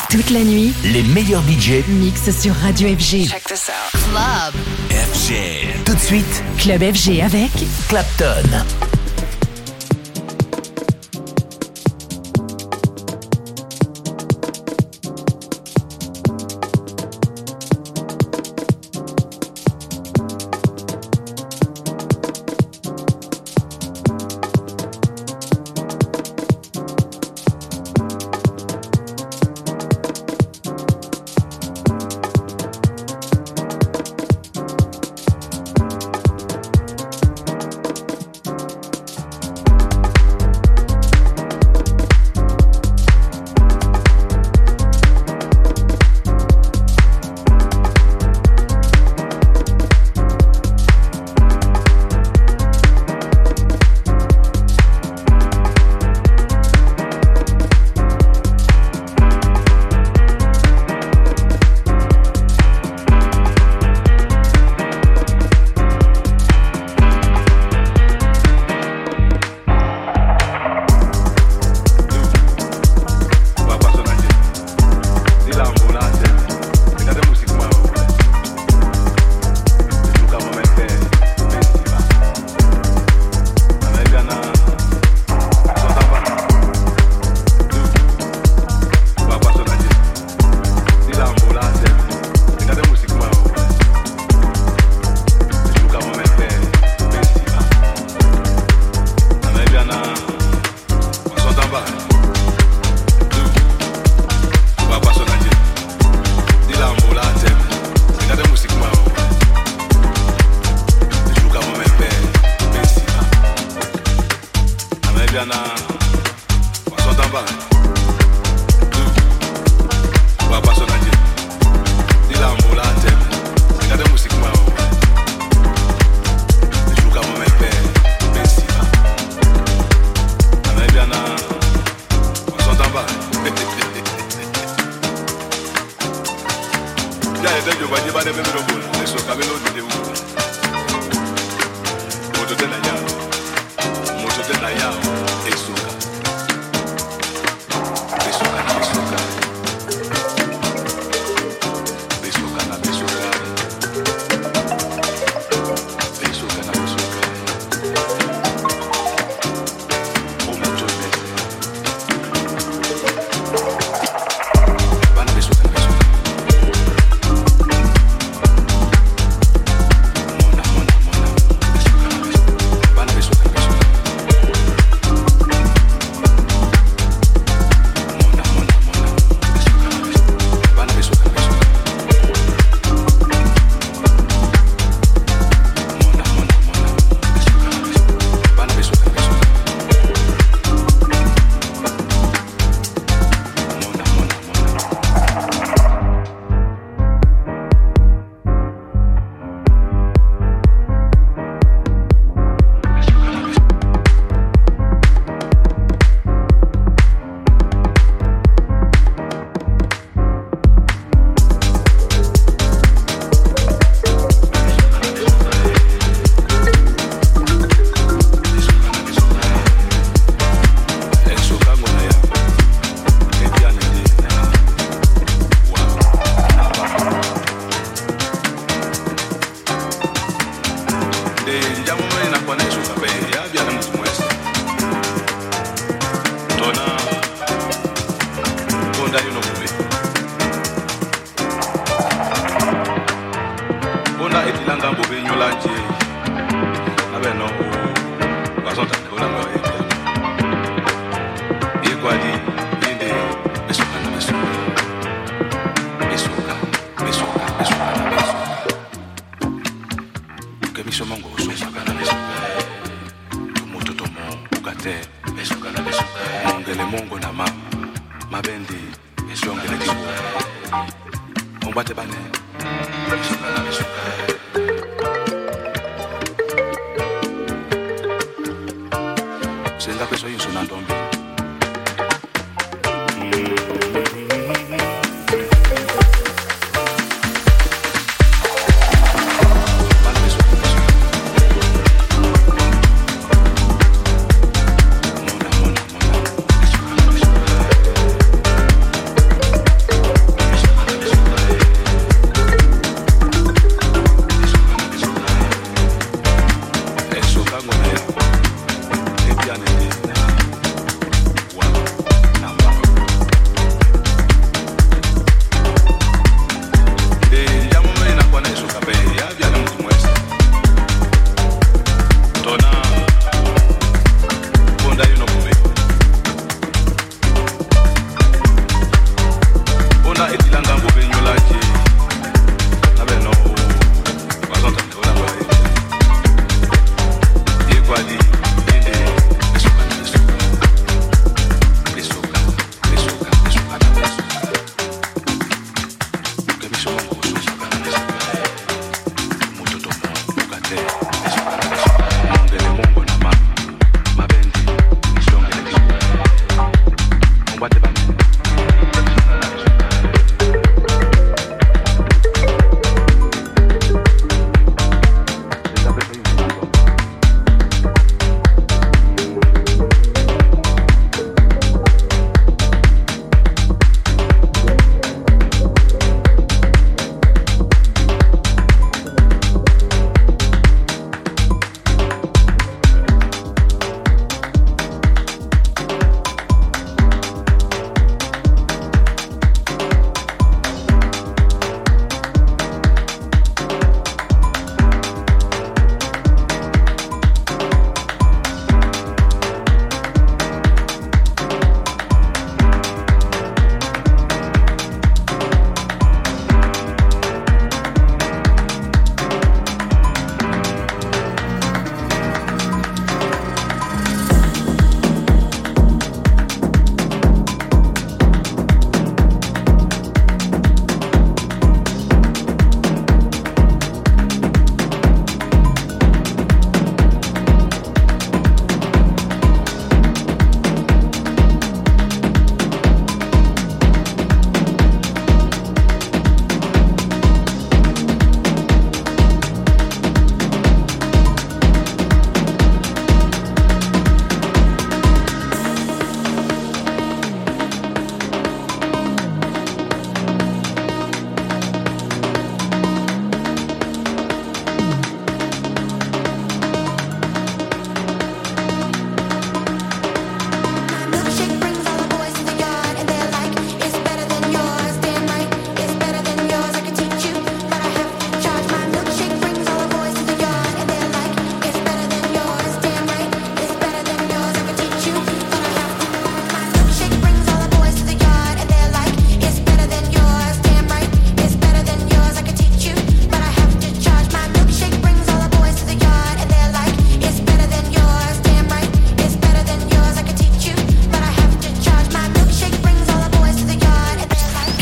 Toute la nuit, les meilleurs DJ mixent sur Radio FG. Check this out. Club FG. Tout de suite, Club FG avec Clapton.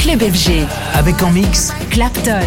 Club FG. Avec en mix Clapton.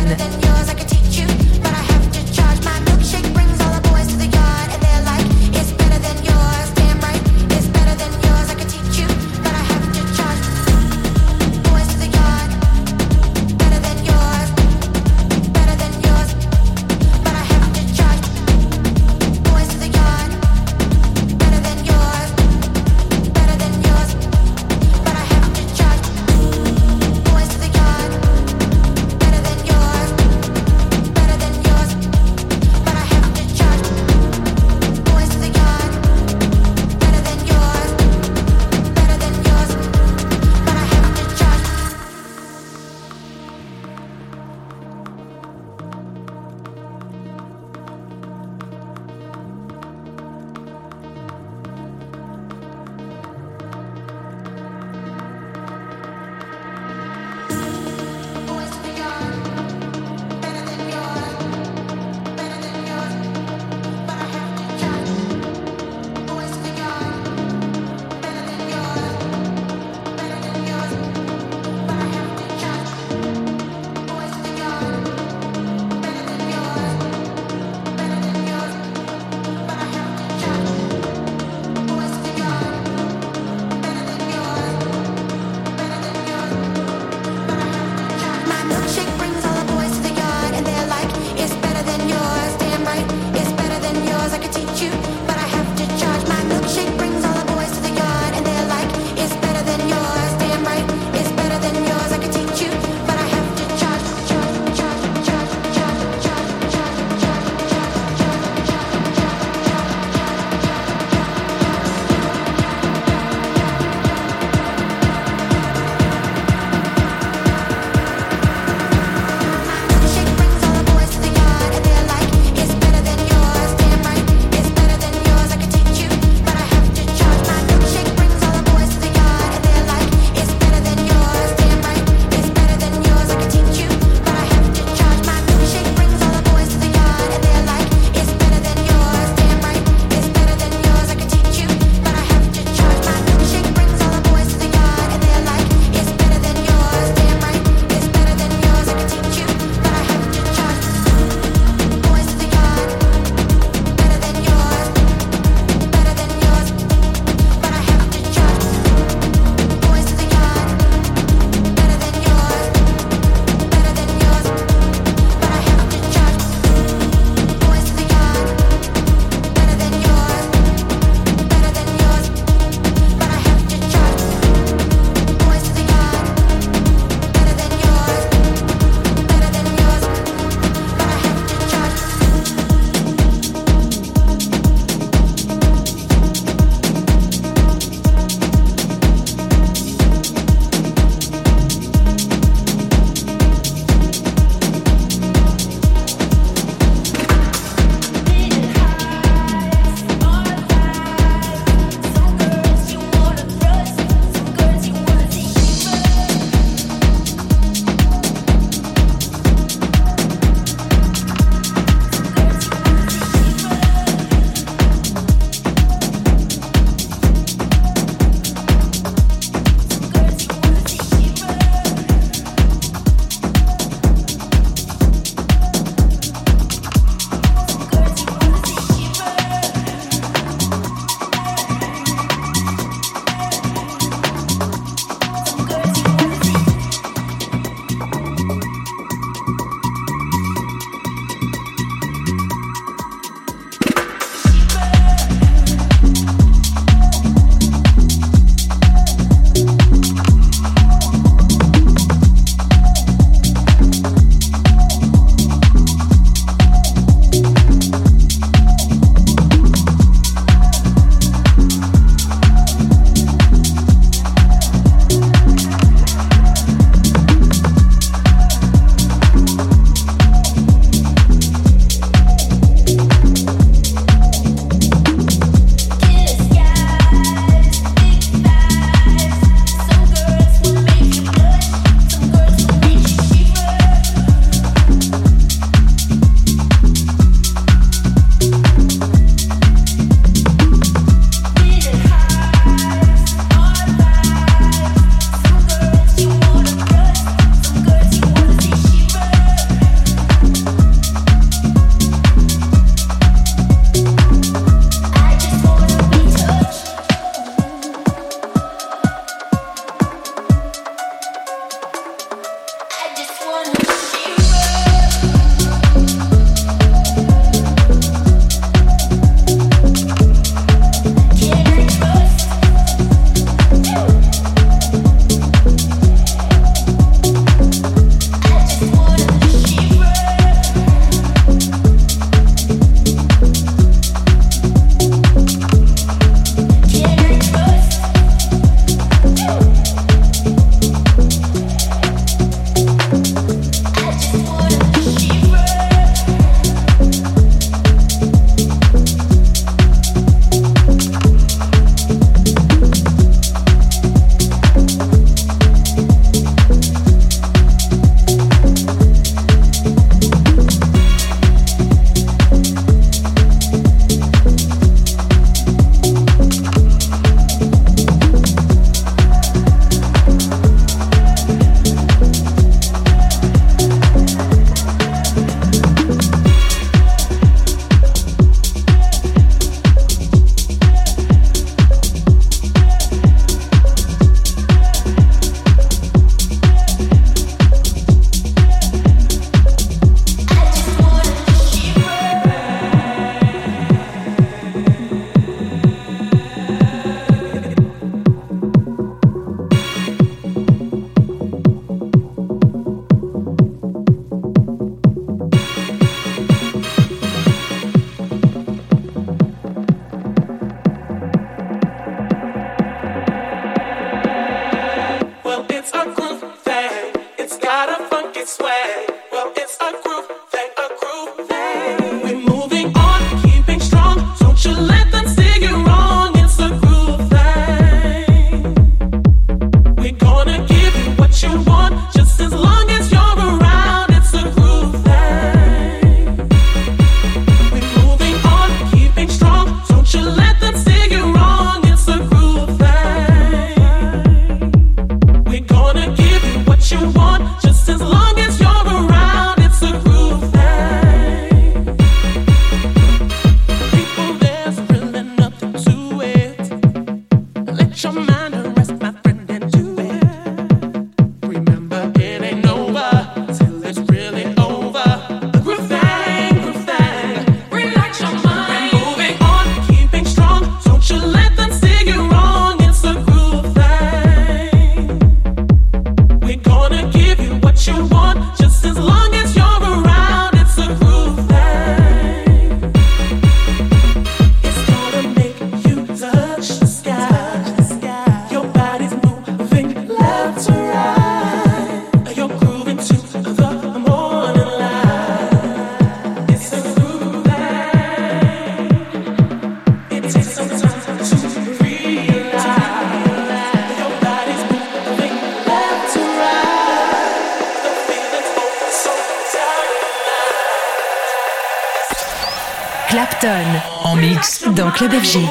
En mix dans Club FG.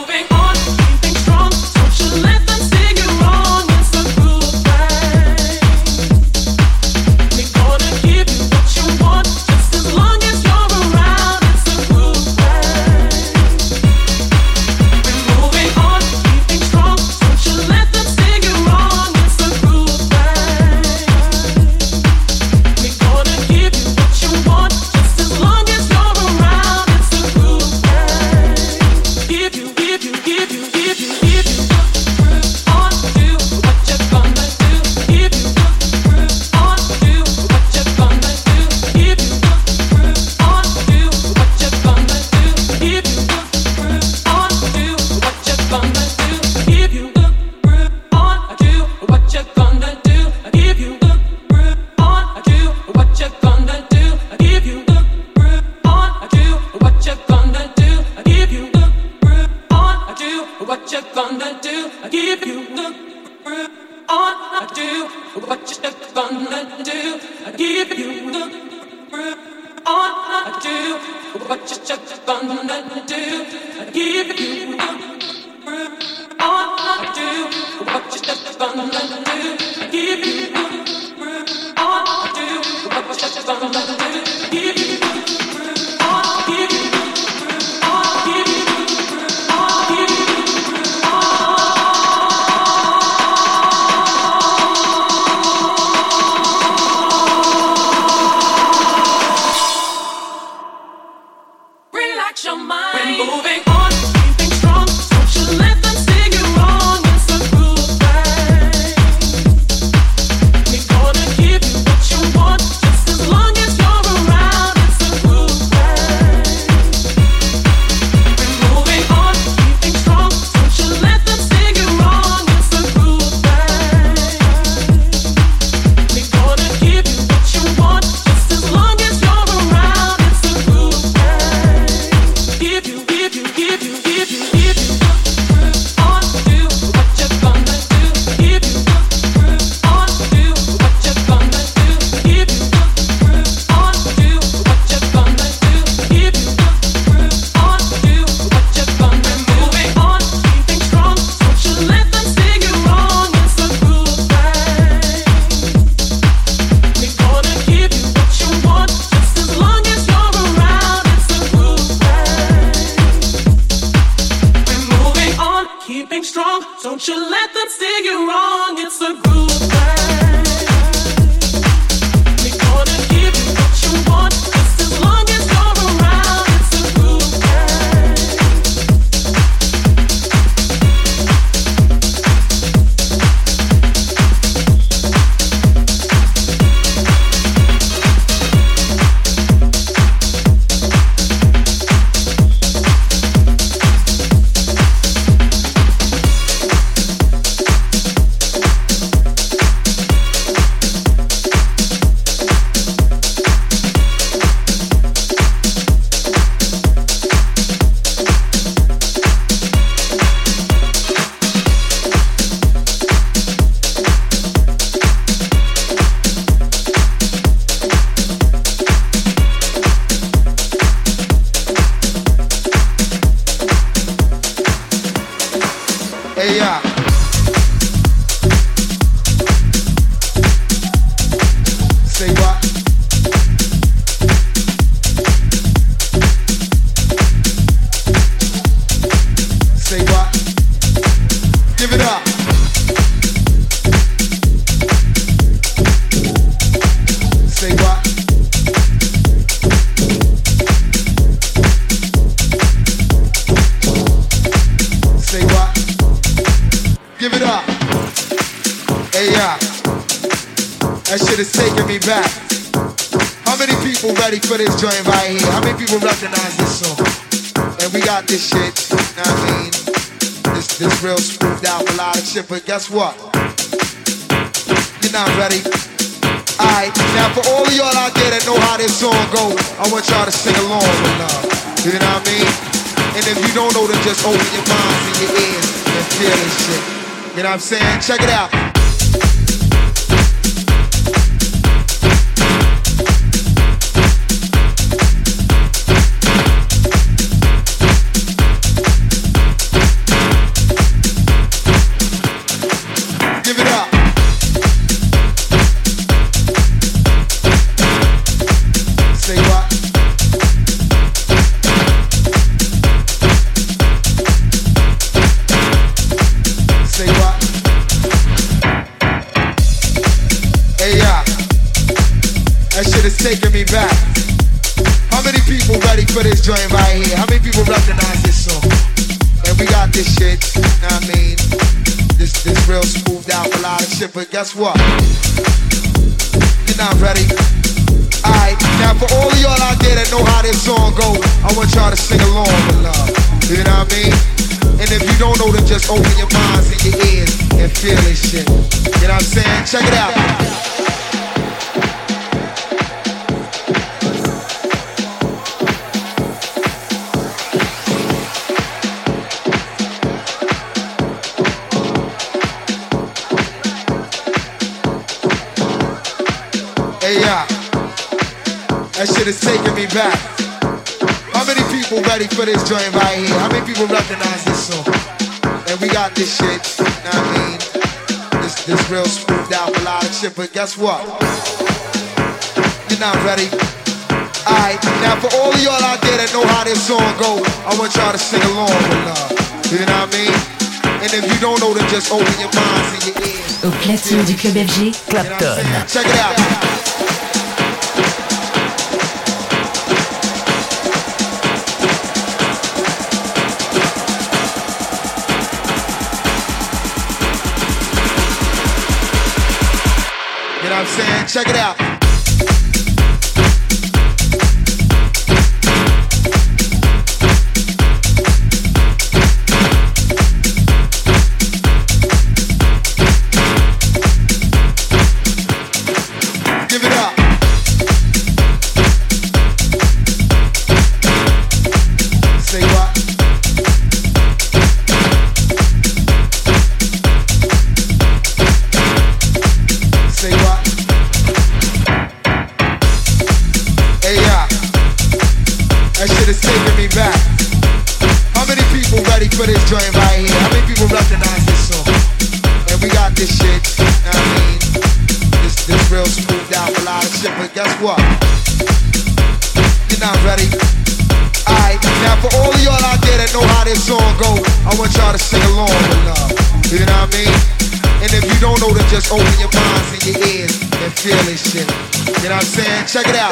That shit is taking me back. How many people ready for this joint right here? How many people recognize this song? And we got this shit, you know what I mean? This real smoothed out melodic shit, but guess what? You're not ready. Alright, now for all of y'all out there that know how this song go, I want y'all to sing along with love. You know what I mean? And if you don't know, then just open your minds and your ears and feel this shit. You know what I'm saying? Check it out. Taking me back. How many people ready for this joint right here? How many people recognize this song? And we got this shit, you know what I mean? This real smoothed out melodic shit, but guess what? You're not ready. Alright, now for all of y'all out there that know how this song go, I want y'all to sing along with love. You know what I mean? And if you don't know, then just open your minds and your ears and feel this shit. You know what I'm saying? Check it out. That shit is taking me back. How many people ready for this joint right here? How many people recognize this song? And we got this shit, you know what I mean? This real smoothed out melodic shit, but guess what? You're not ready. Alright, now for all of y'all out there that know how this song go, I want y'all to sing along with love. You know what I mean? And if you don't know, then just open your minds and your ears. Au platine du Club FG, Clapton. Check it out. You know what I'm saying? Check it out. Give it up. Say what? Say what? That shit is taking me back. How many people ready for this joint right here? How many people recognize this song? And we got this shit, you know what I mean? This real smoothed out melodic shit, but guess what? You're not ready. Alright, now for all of y'all out there that know how this song go, I want y'all to sing along with love. You know what I mean? And if you don't know, then just open your minds and your ears and feel this shit. You know what I'm saying? Check it out.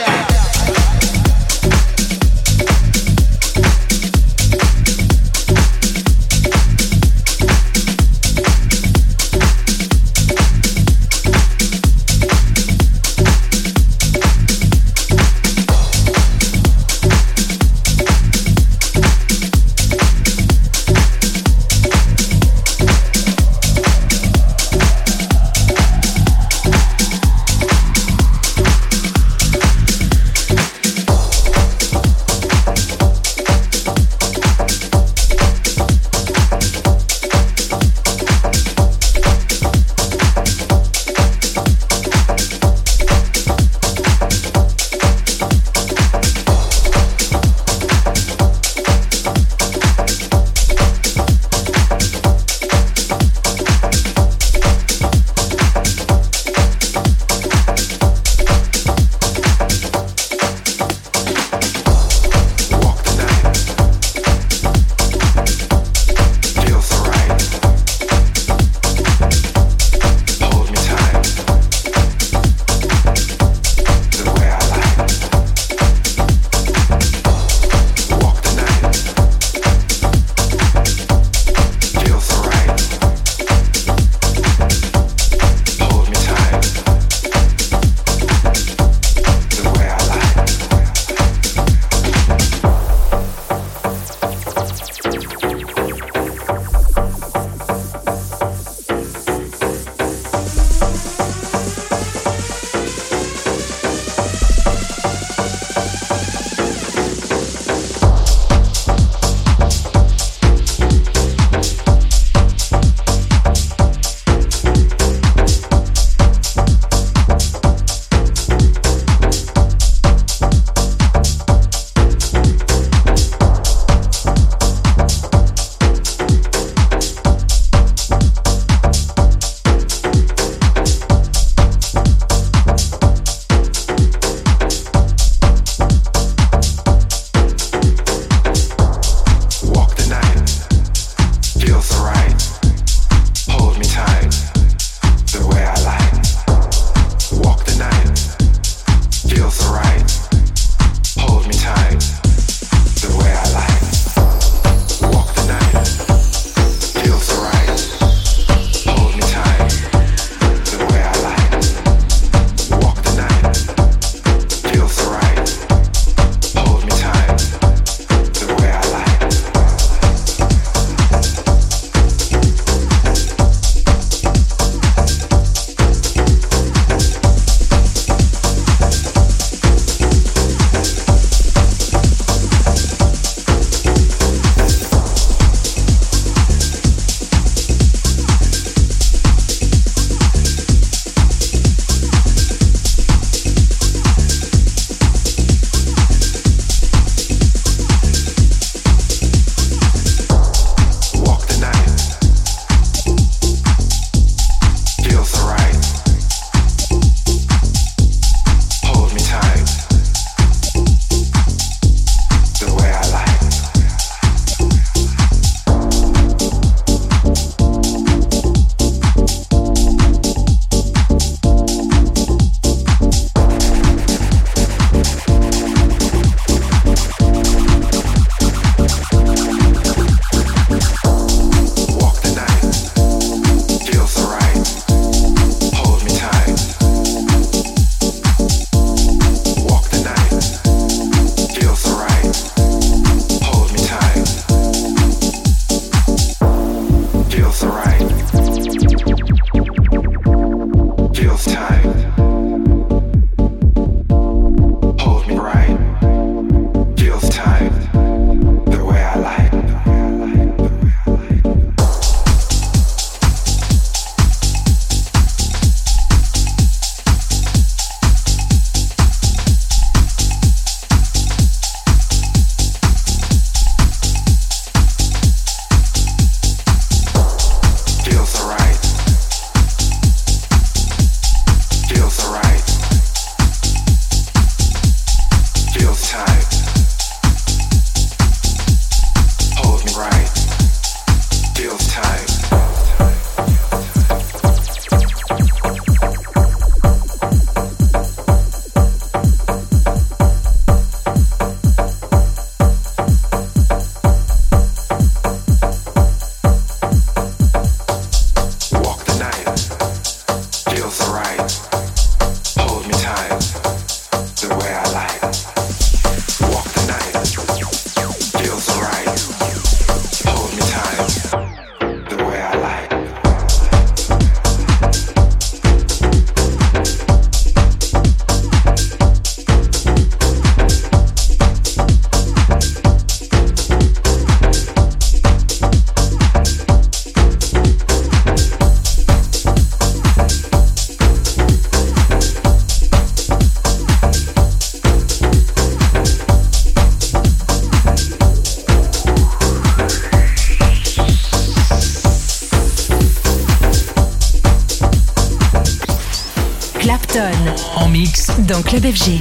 En mix dans Club FG.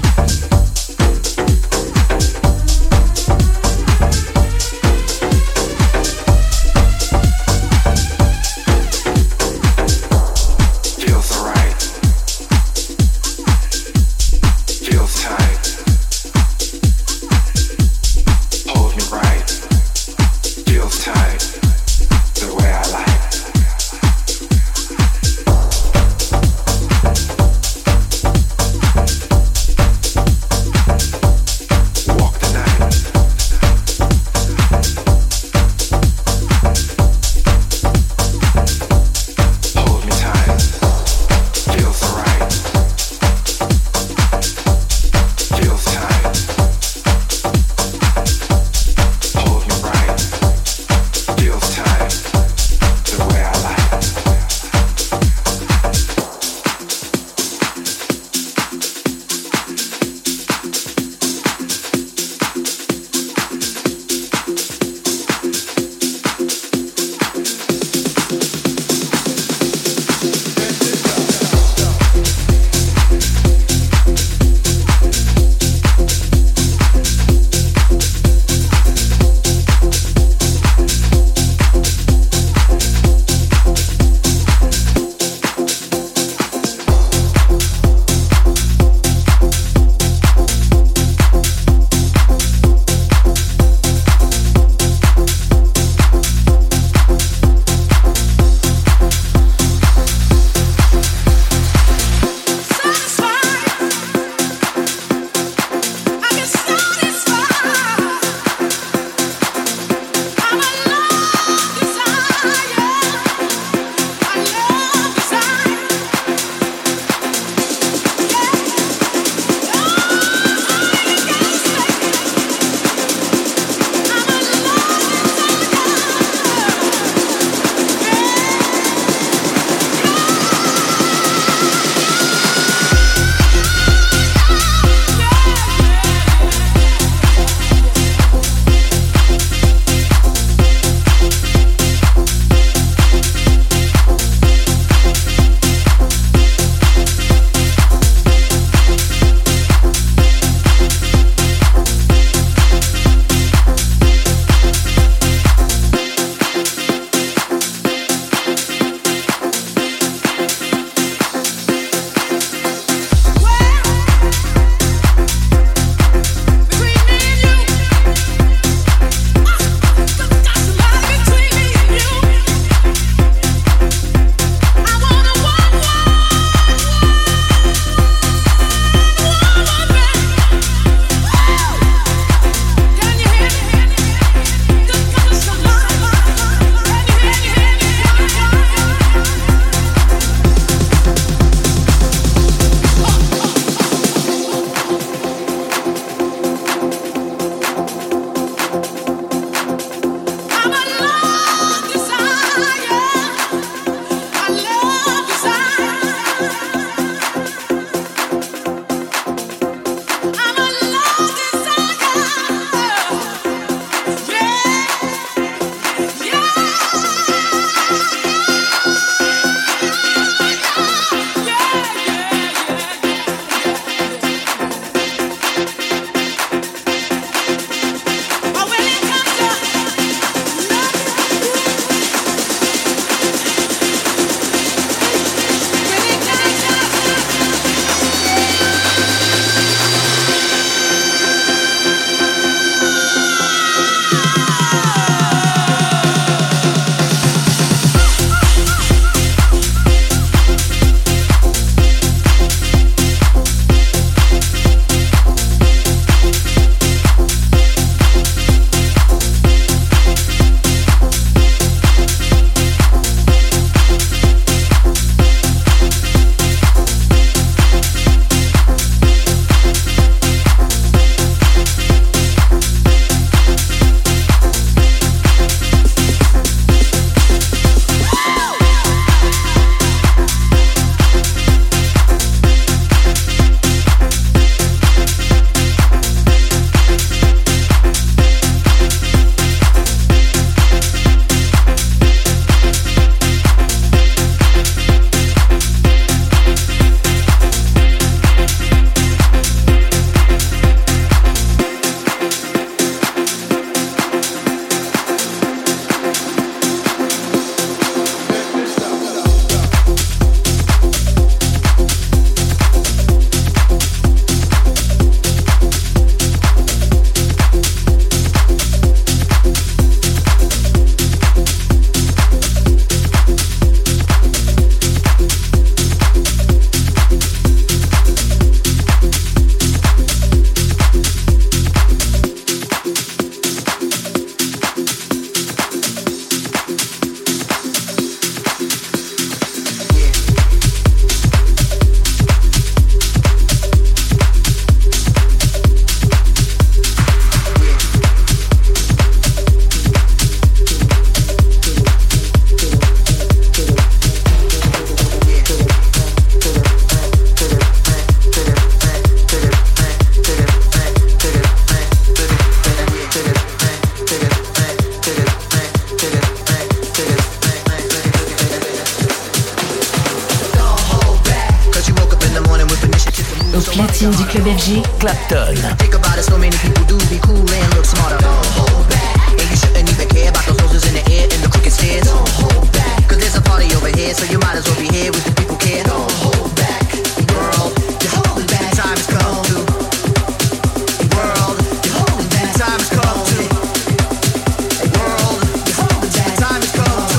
platine du club FG. Clapton. Think about it, so many people do be cool and look smarter. Don't hold back. And you shouldn't even care about those roses in the air and the crooked stairs. Don't hold back. Cause there's a party over here, so you might as well be here with the people care. Don't hold back. World, you're holding back. Time has come to. World, you're holding back. Time has come to. World, you're holding back. Time has come to.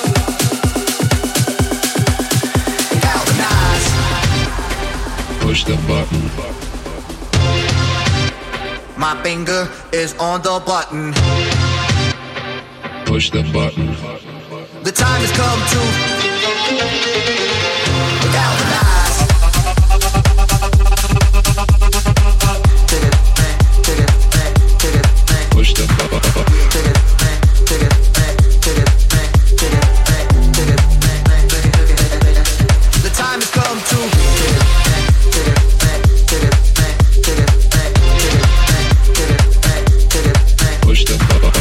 Galvanize. Push the button. My finger is on the button. Push the button. The time has come to galvanize. Push the button. The time has come to Push the button.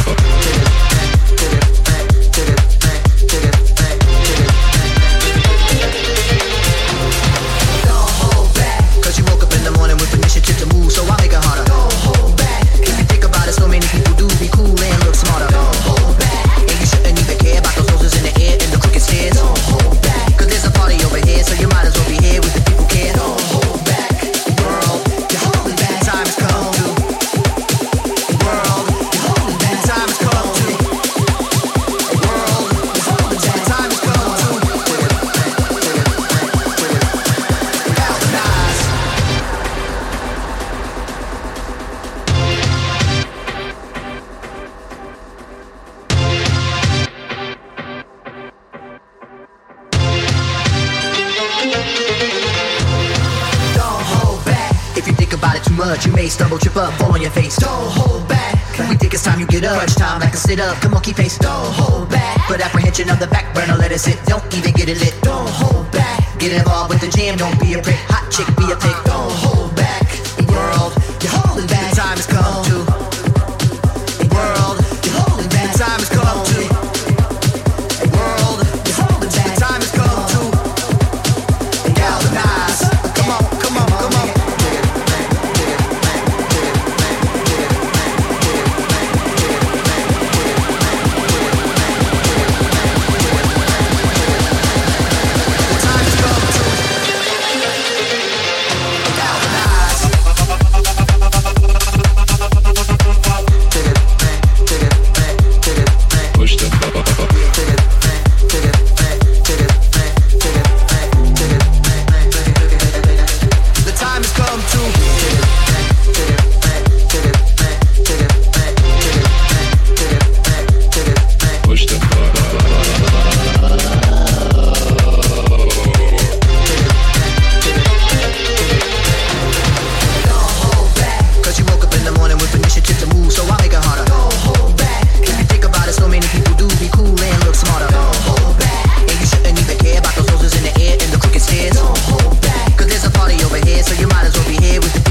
much, you may stumble, trip up, fall on your face. Don't hold back. We think it's time you get up. Crunch time like a sit up. Come on, keep pace. Don't hold back. Put apprehension on the back burner, let it sit. Don't even get it lit. Don't hold back. Get involved with the jam, don't be a prick. Hot chick, be a pick. Don't hold back. World, you're holding back. The time has come to. World, you're holding back. The time has come to. World, you're holding back. The time has come to. Galvanize. Come on, come on, come on. So you might as well be here with the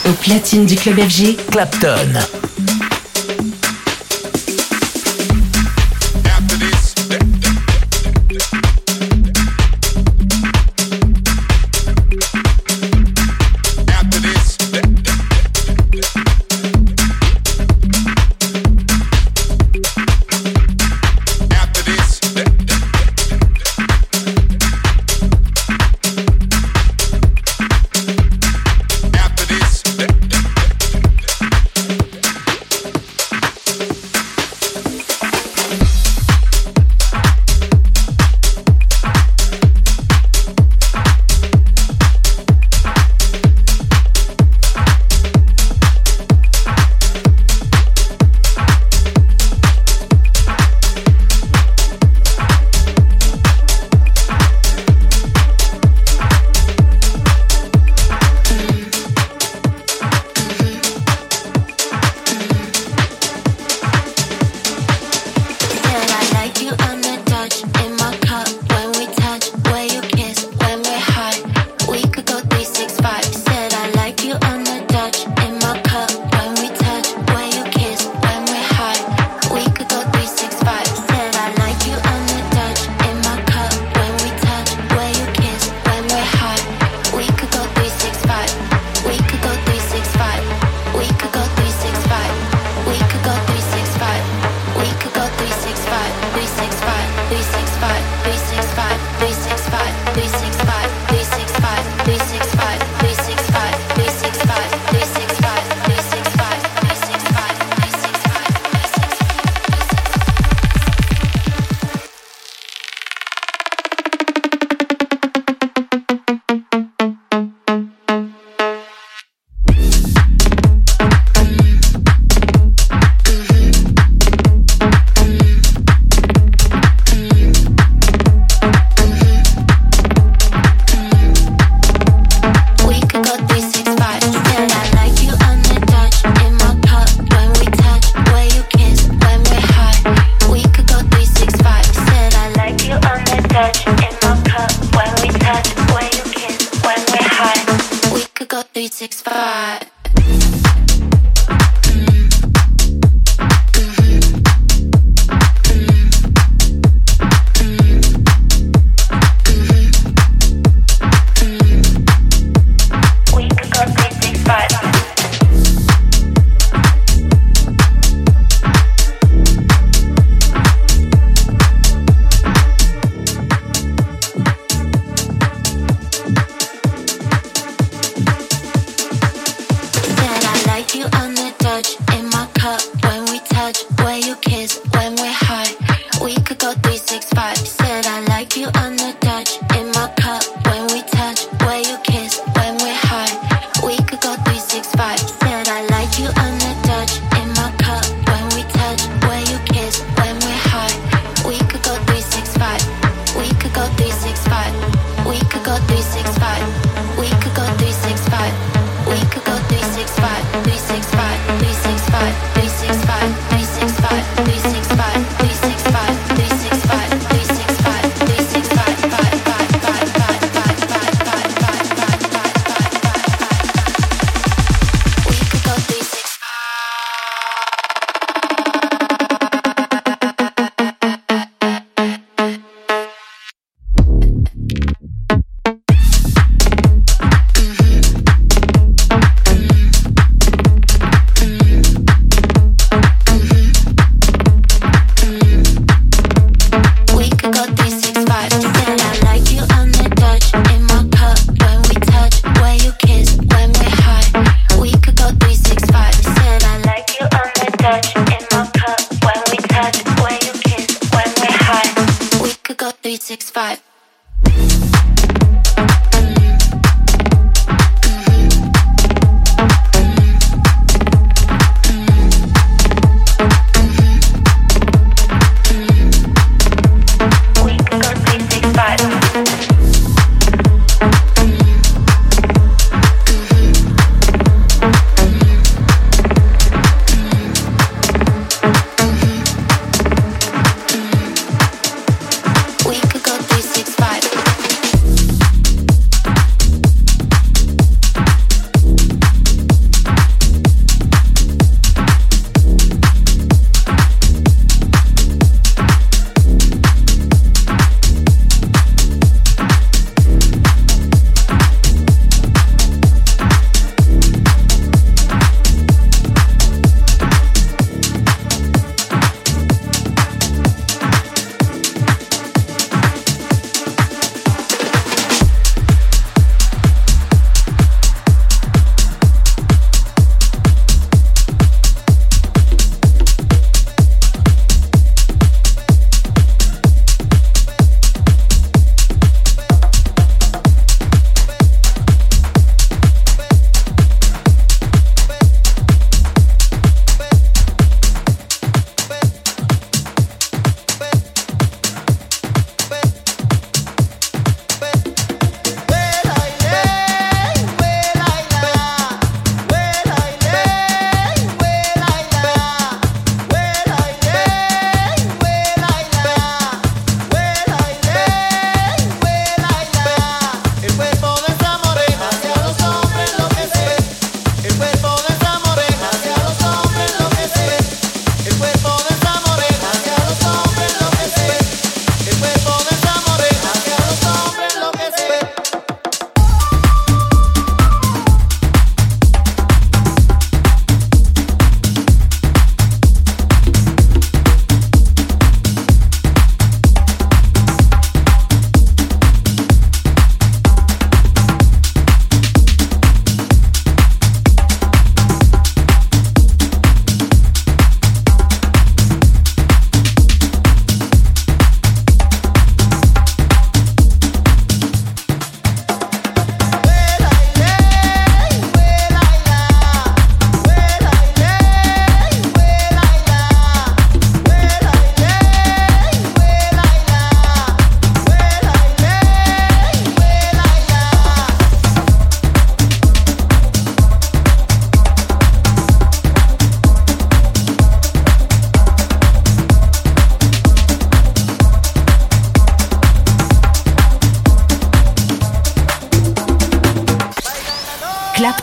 Au platine du club FG, Clapton.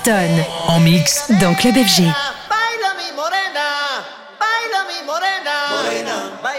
Clapton. En mix Dans Club FG. Baila mi morena, baila mi morena, morena,